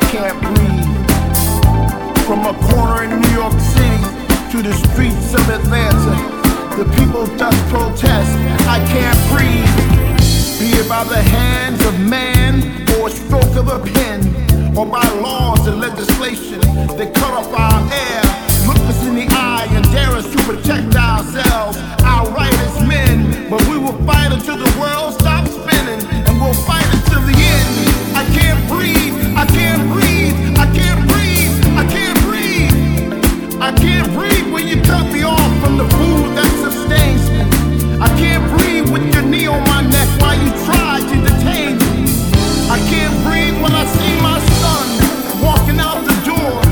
can't breathe. From a corner in New York City to the streets of Atlanta, the people just protest, I can't breathe. Be it by the hands of man or a stroke of a pen, or by laws and legislation that cut off our air, look us in the eye and dare us to protect ourselves, our right as men. But we will fight until the world stops spinning, and we'll fight until the end. I can't breathe, I can't breathe, I can't breathe, I can't breathe. I can't breathe when you cut me off from the food that sustains me. I can't breathe with your knee on my neck while you try to detain me. I can't breathe when I see my son walking out the door,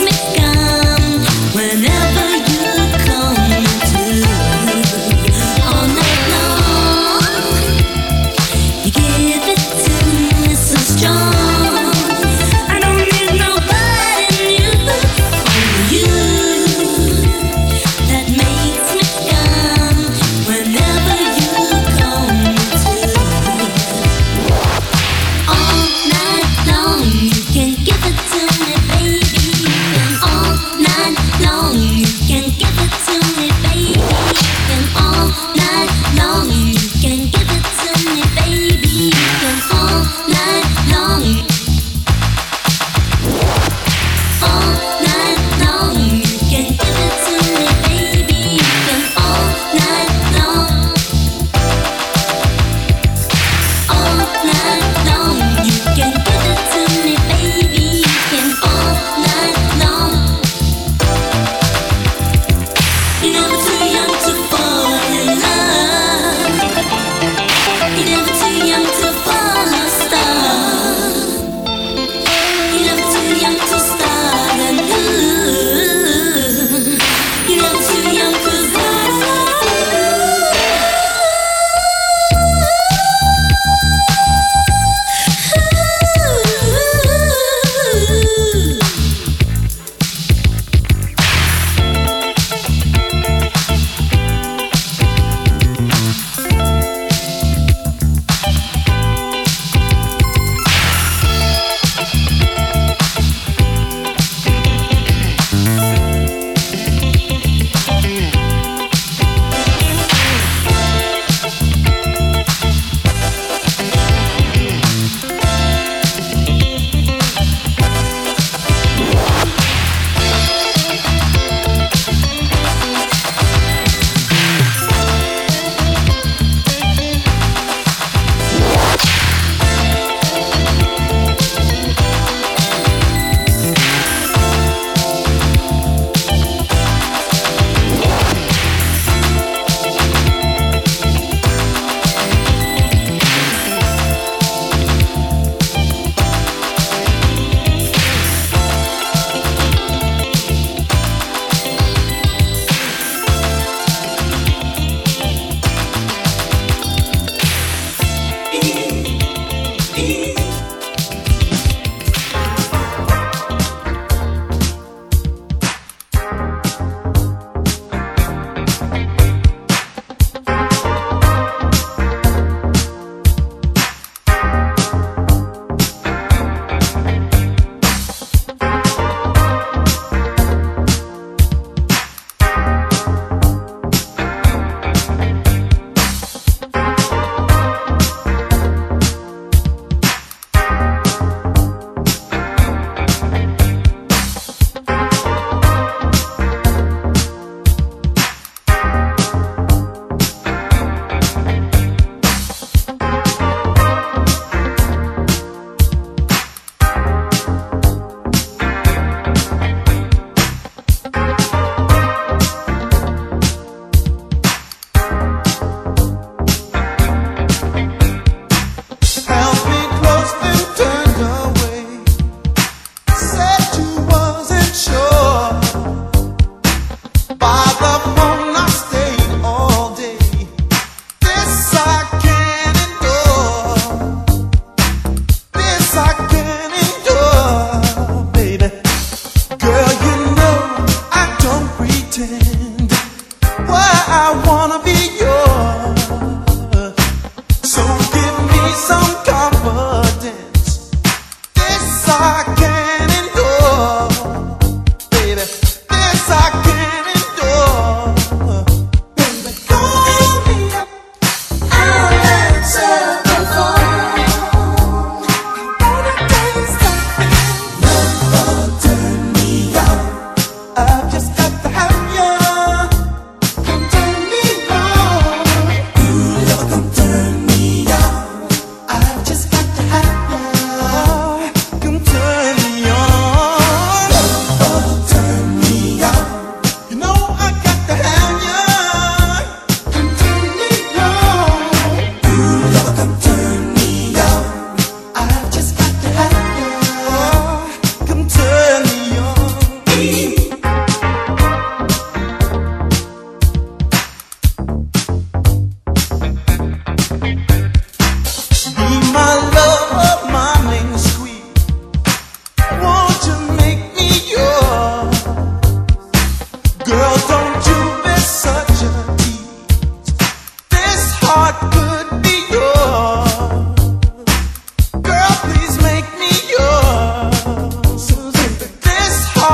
All night long, you can give it to me, baby.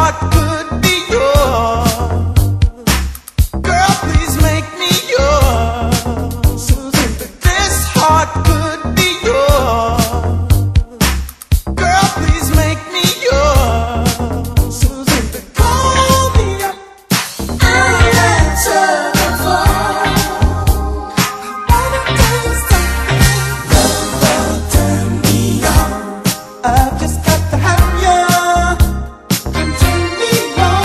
heart could be yours. Girl, please make me yours. Susan, this heart could be yours. Girl, please make me yours. Susan, call me up. I'll answer the phone. I wanna tell you something. Love, turn me on. I've just got to have you. And turn me on.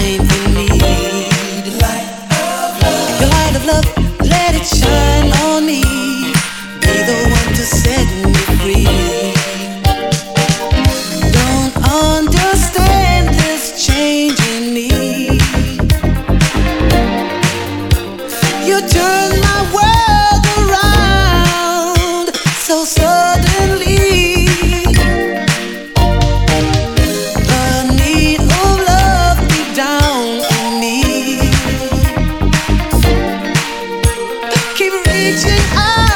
I'm in need. Your light of love, let it shine on me. Be the one to set me free. Don't understand this change in me. You turn my world around so suddenly. The need of love deep down in me. Keep reaching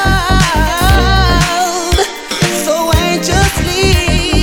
out so anxiously.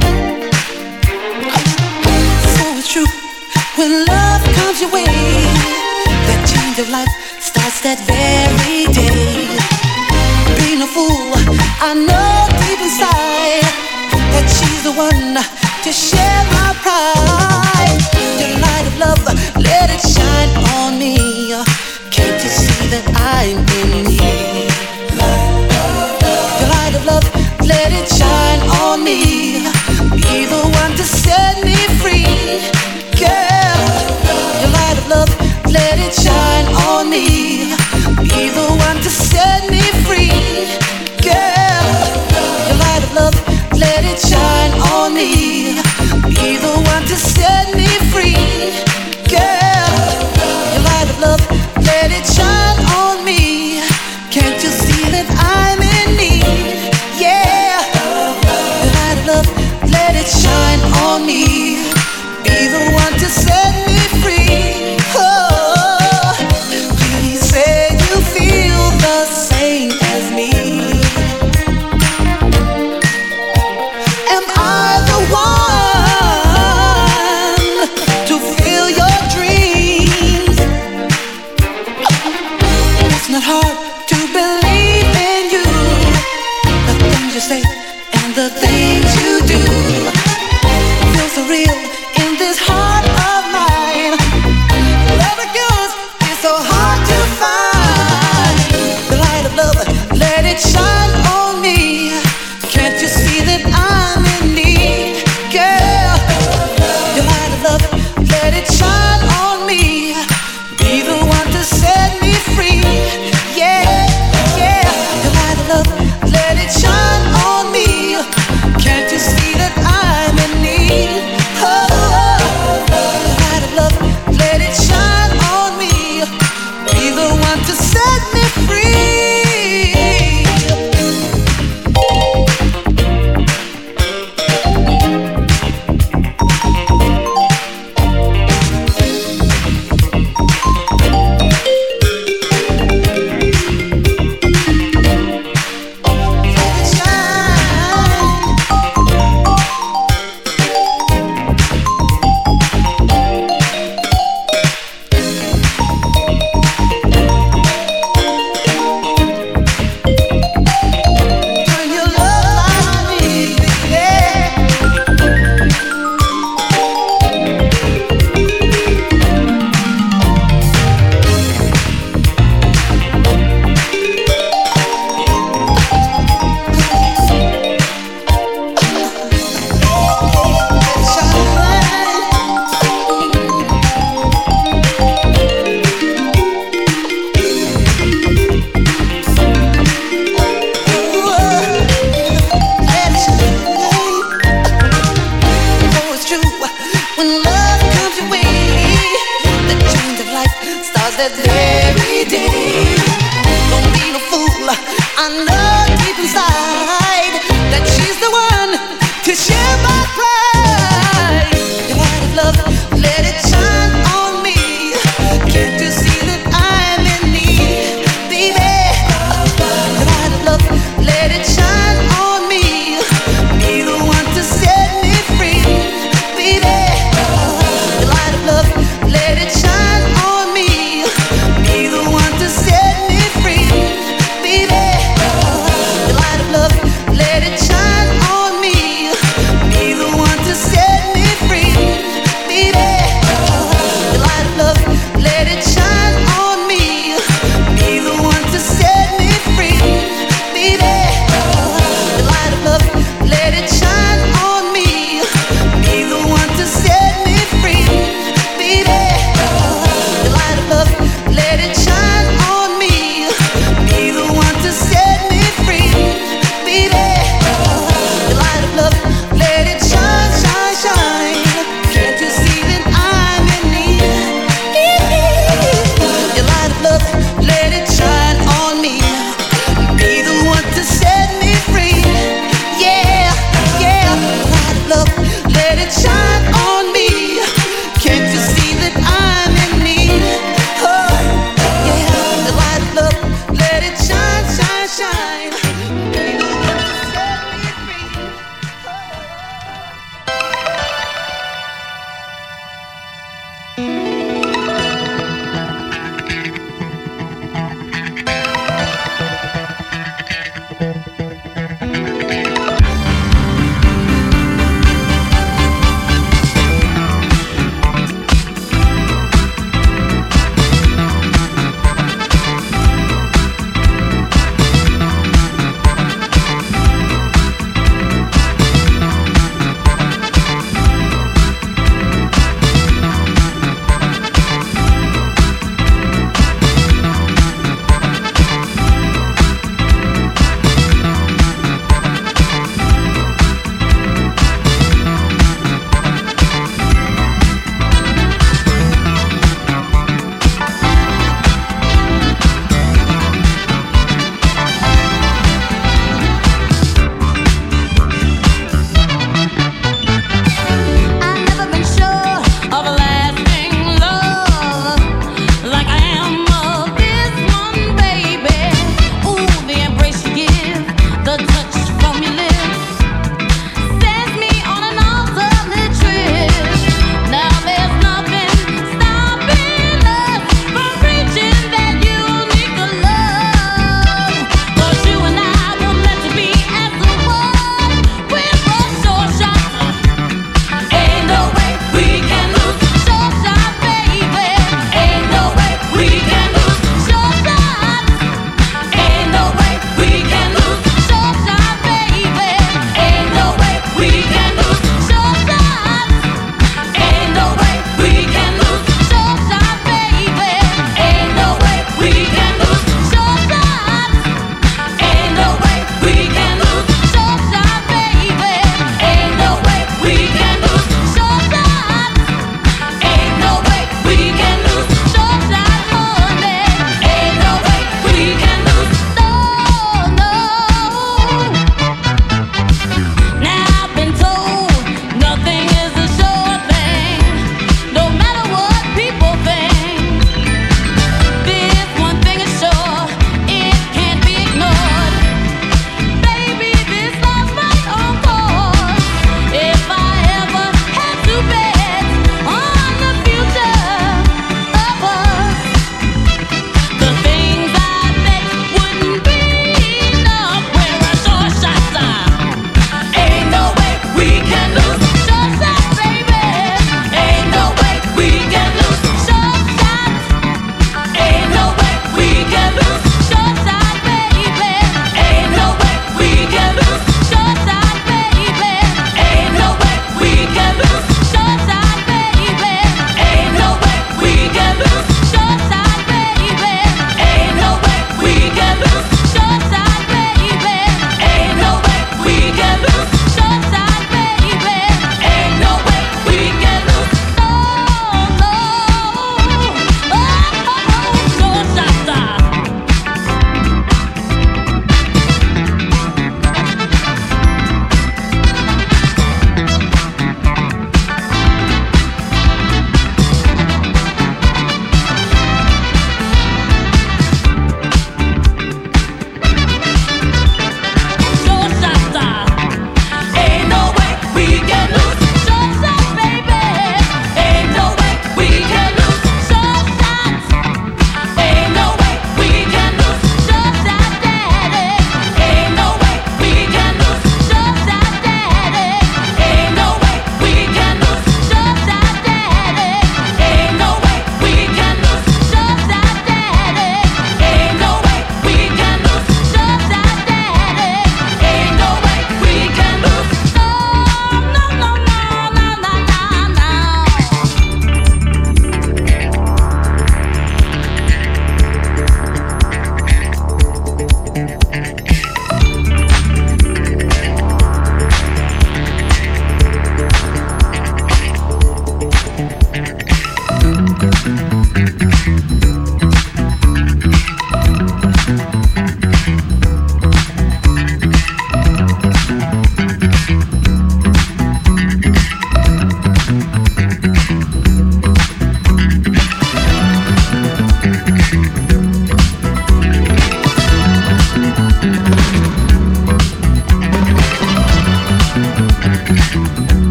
So it's true when love comes your way. That change of life starts that very day. Being a fool, I know deep inside that she's the one to share my pride. Your light of love, let it shine on me. Can't you see that I'm in need? Your light of love, let it shine on me. Be the one to set me free. Girl, your light of love, let it shine on me. Be the one to set me free. Girl, your light of love, let it shine on me. Be the one to set me free. Girl, your light of love, let it shine on me. Can't you see that I'm in need? Yeah, your light of love, let it shine on me. Be the one to set me free. Oh, please say you feel the same as me. Am I the one to feel your dreams? It's not hard to believe in you. The things you say and the things you do feel so real in this heart of mine. Love like yours is so hard to find. The light of love, let it shine on me. Can't you see that I'm in need? Girl, your light of love, let it shine on me. Be the one to set me free. Yeah, yeah, your light of love, let it shine on me. Can't you see that I'm in need? Oh, your light of love, let it shine on me. Be the one to set me free. Turn your love on me, yeah. Oh, it's true. When love comes your way, the change of life starts that very day. Don't be no fool. I know deep inside that she's the one to share my pride. Your light of love, let it shine on me. Can't you see that I'm in need, baby? Your light of love, let it shine on me. Be the one to set me free, baby. Your light of love, let it shine on me. Be the one to set me free, baby. Your light of love, let it shine on me. Be the one to set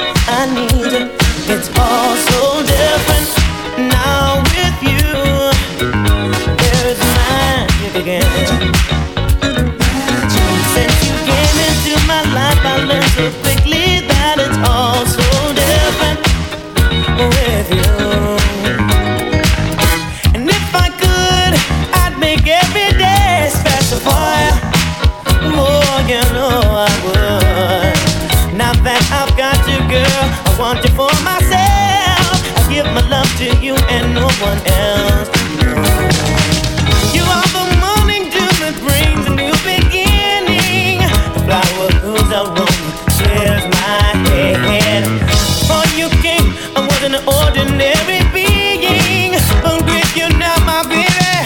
I need. It's all so different now with you. There's magic again. Since you came into my life, I learned so quickly that it's all so different with you. And if I could, I'd make every day special for you. Oh, you know I would. Now that I've got you, girl, I want you for myself. I give my love to you and no one else. You are the morning dew that brings a new beginning. The flower whose aroma clears my head. Before you came, I wasn't an ordinary being, but with you now, my baby,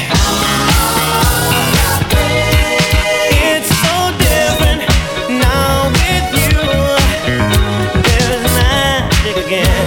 it's so different now with you. There's magic again.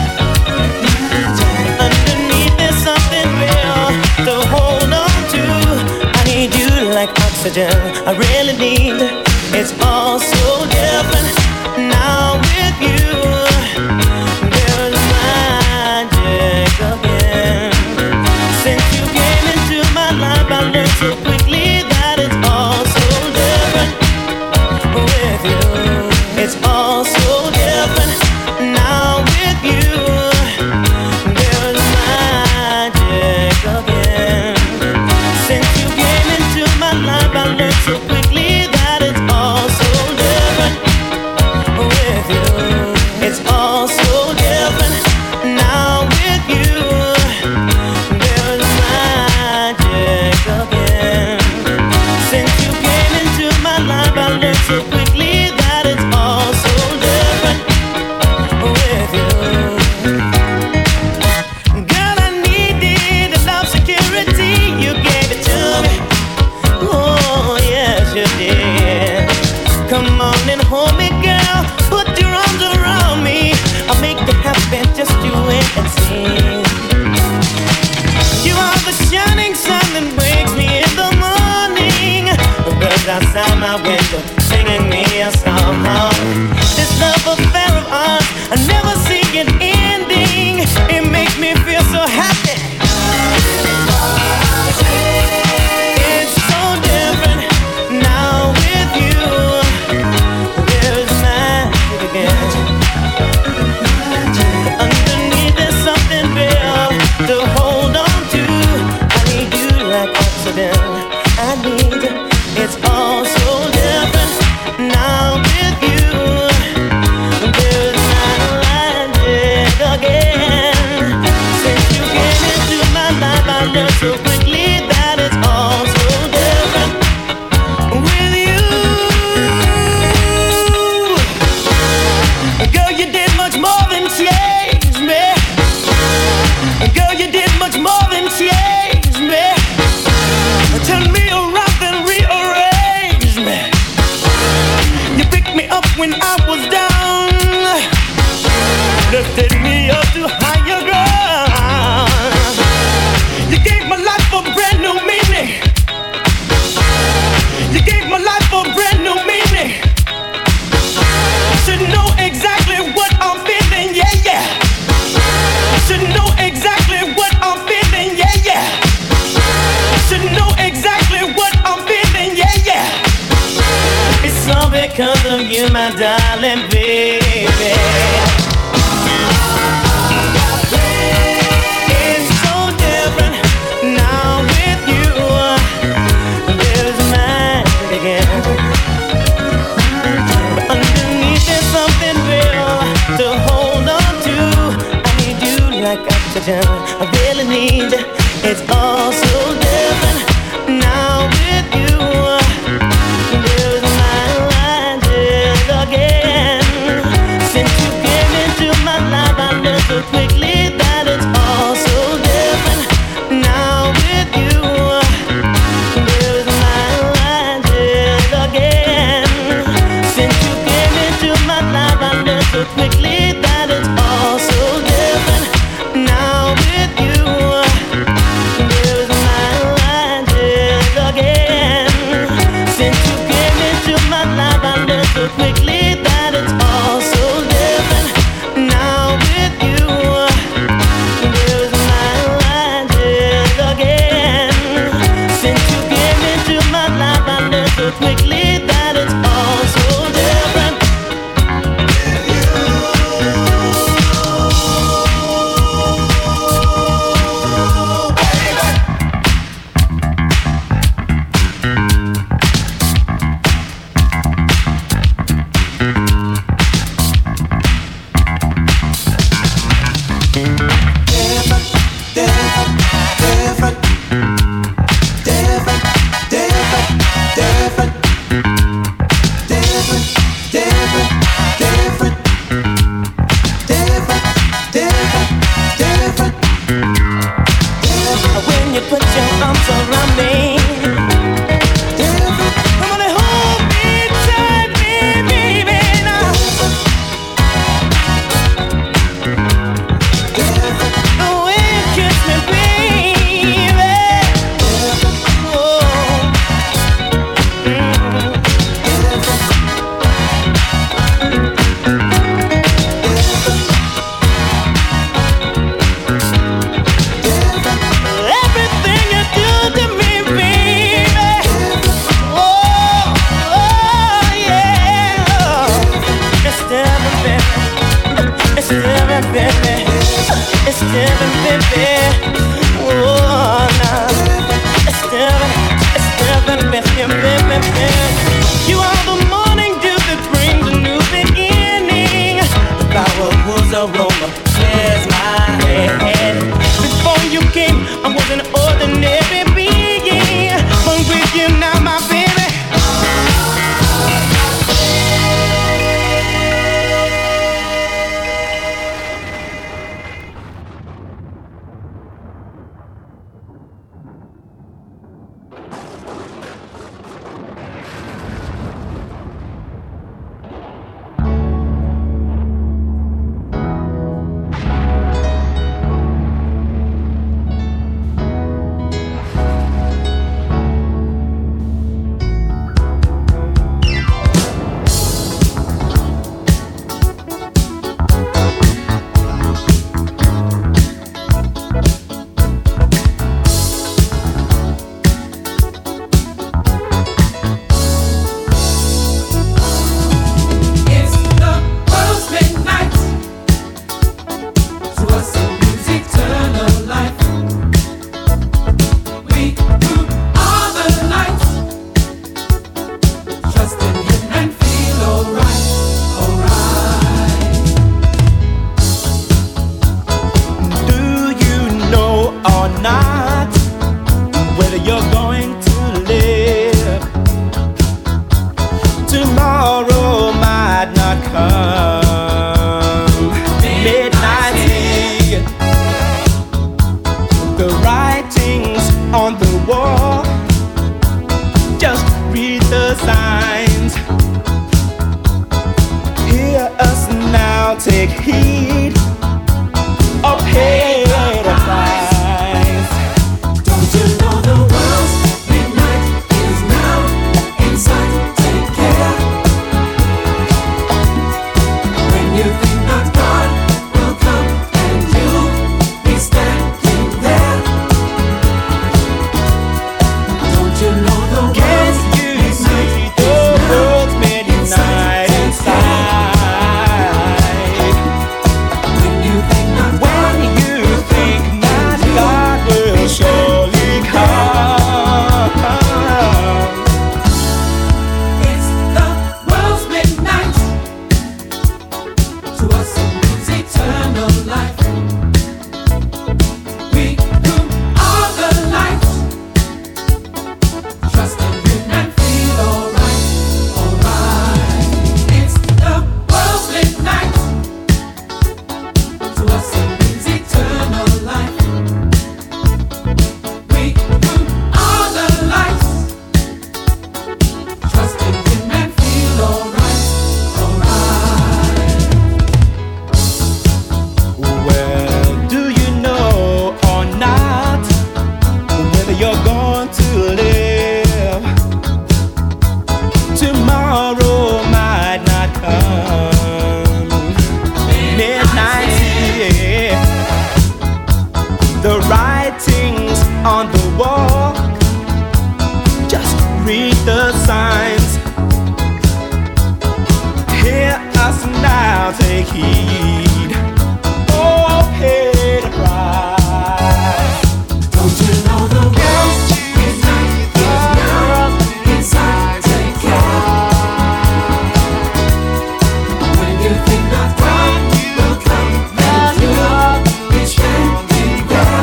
Underneath there's something real to hold on to. I need you like oxygen, I really need. It's all so different now with you. There's magic again. Since you came into my life, I learned so quickly that it's all so different with you. It's all so different now with you. There's magic again. Since you came into my life, I learned so quickly that it's all so different with you. It's all so different now with you. There's magic again. Since you came into my life, I learned so quickly that it's all so different with you. Girl, I needed a love security. You gave it to me. Oh, yes, you did. Come on and hold me, girl. Put your arms around me. I'll make you happy, just you wait and see. You are the shining sun that wakes me in the morning. The birds outside my window singing me a song. This love affair of ours, I never see it ending. It makes me feel so happy. It's so different now with you. There's magic again. Underneath there's something real to hold on to. I need you like oxygen. I need. It's all so different now with you. There's magic again. Since you came into my life, I learned so quickly that it's all so different with you. Girl, you did much more than change me. Girl, you did much more than change me. Turn me around and rearrange me. You picked me up when I was down, lifted me up to higher ground. You gave my life a brand new meaning. You gave my life a brand new meaning. Should know exactly what I'm feeling, yeah, yeah. Should know exactly what I'm feeling, yeah, yeah. Should know exactly what I'm feeling, yeah, yeah. It's all because of you, my darling baby. It's so different now with you. There's magic again. Underneath there's something real to hold on to. I need you like oxygen. I really need you. It's all so different now with you. There's magic again. Since you came into my life, I learned so quickly that it's all so different now with you. There's magic again. Since you came into my life, I learned so quickly that it's all so different now with you. There's take heed or pay the price. Don't you know the world's midnight is now in sight? Take care. When you think that God will come and you'll be standing there. Don't you know the world's midnight inside? When you think not God will surely come. It's the world's midnight. To us it means eternal life. We consume all the lights. Trust in Him and feel alright, alright. It's the world's midnight. To us it means eternal life. We consume all the lights. Trust in Him and feel alright, alright. Well, do you know or not whether you're going to live? Tomorrow might not come. Midnight, yeah. The writings on the wall, just read the signs. Hear us now, take heed. Oh, pay the price. Don't you know the world's midnight is now inside? Take care. When you think not God will come and you'll be standing there.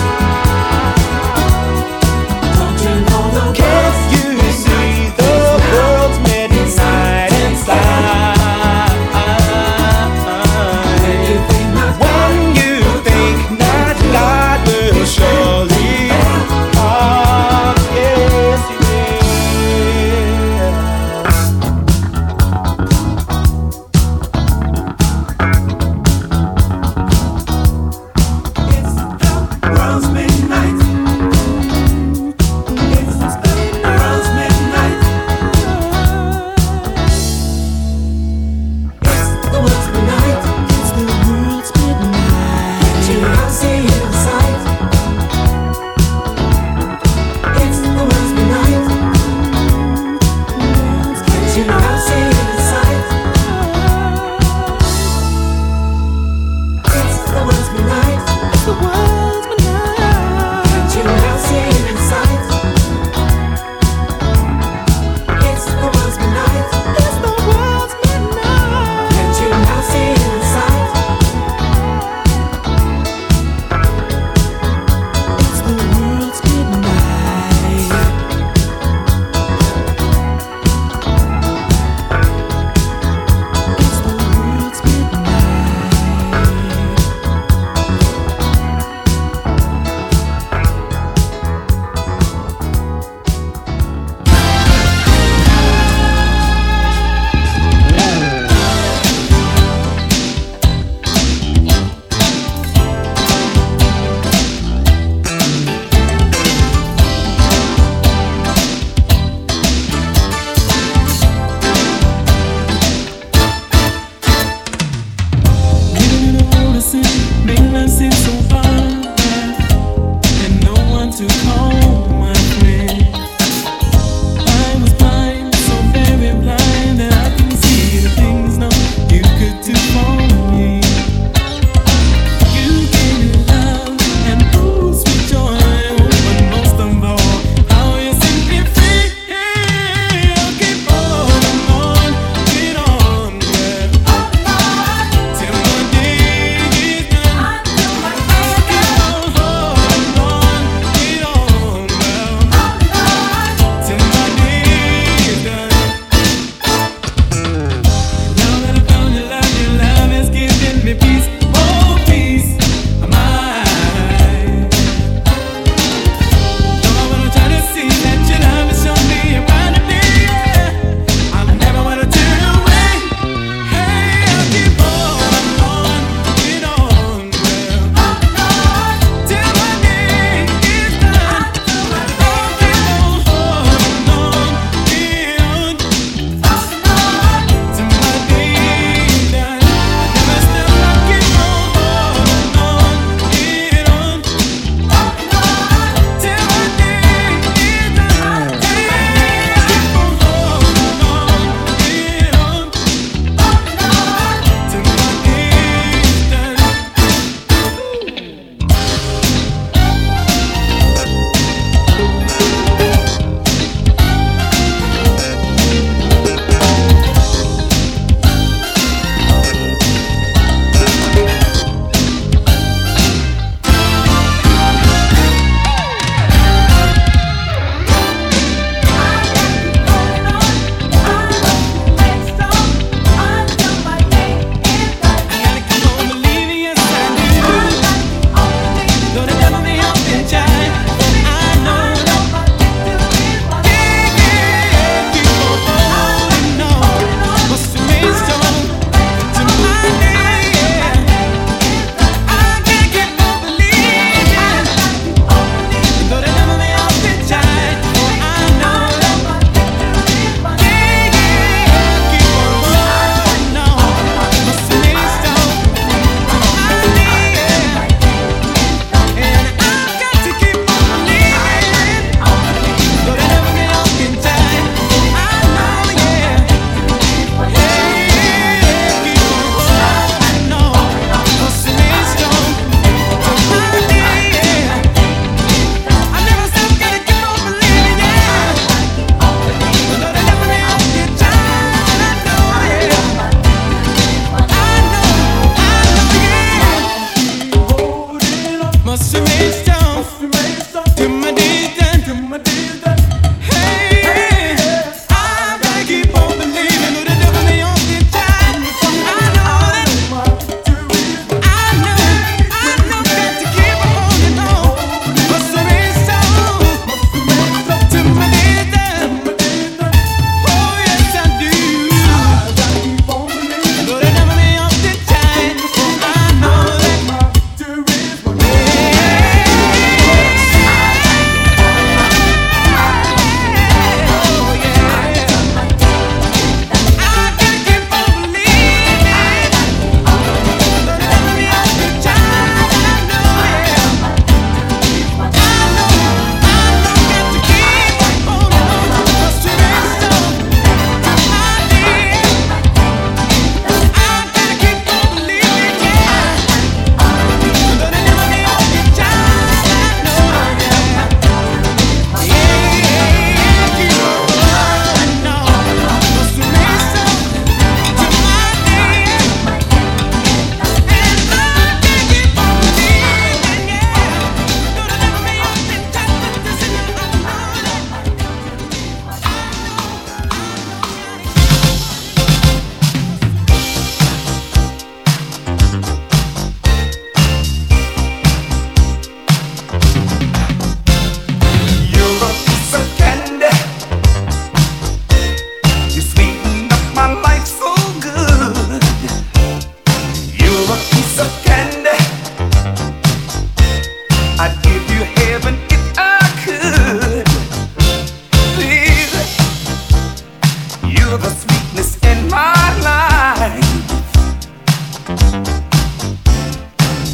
Don't you know the world's You see the world's midnight inside.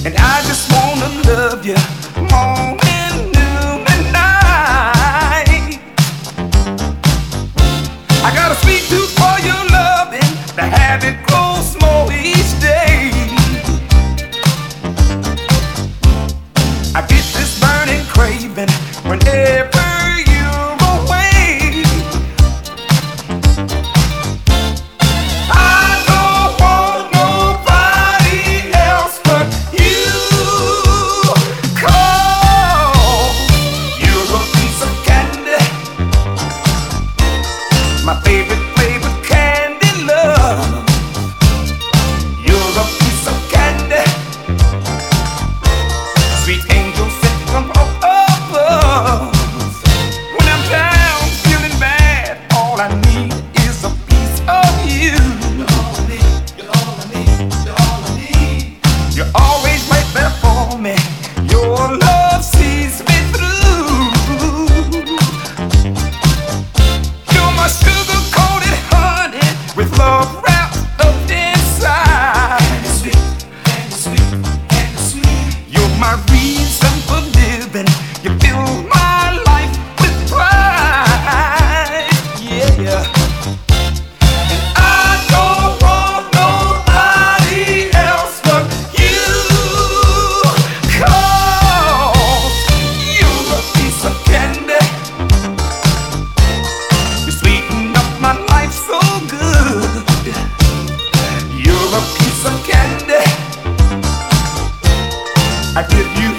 And I just wanna love you morning, noon, and night. I got a sweet tooth for your loving, the habit grows more each day. I get this burning craving whenever you're away. I don't want nobody else but you, 'cause you're a piece of candy, my favorite flavored candy, love. You're a piece of candy, sweet angel sent from above. When I'm down, feeling bad, all I need is a piece of you. You're all I need, you're all I need, you're all I need. You're always right there for me. Your love sees me through. You're my sugar-coated honey with love wrapped up inside. Candy sweet, candy sweet, candy sweet. You're my reason for living. You fill my life with pride. Yeah. And I don't want nobody else but you, 'cause you're a piece of candy. You sweeten up my life so good. You're a piece of candy. I give you